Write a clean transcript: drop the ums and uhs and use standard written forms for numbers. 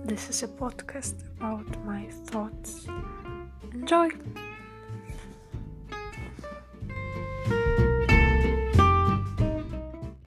This is a podcast about my thoughts. Enjoy!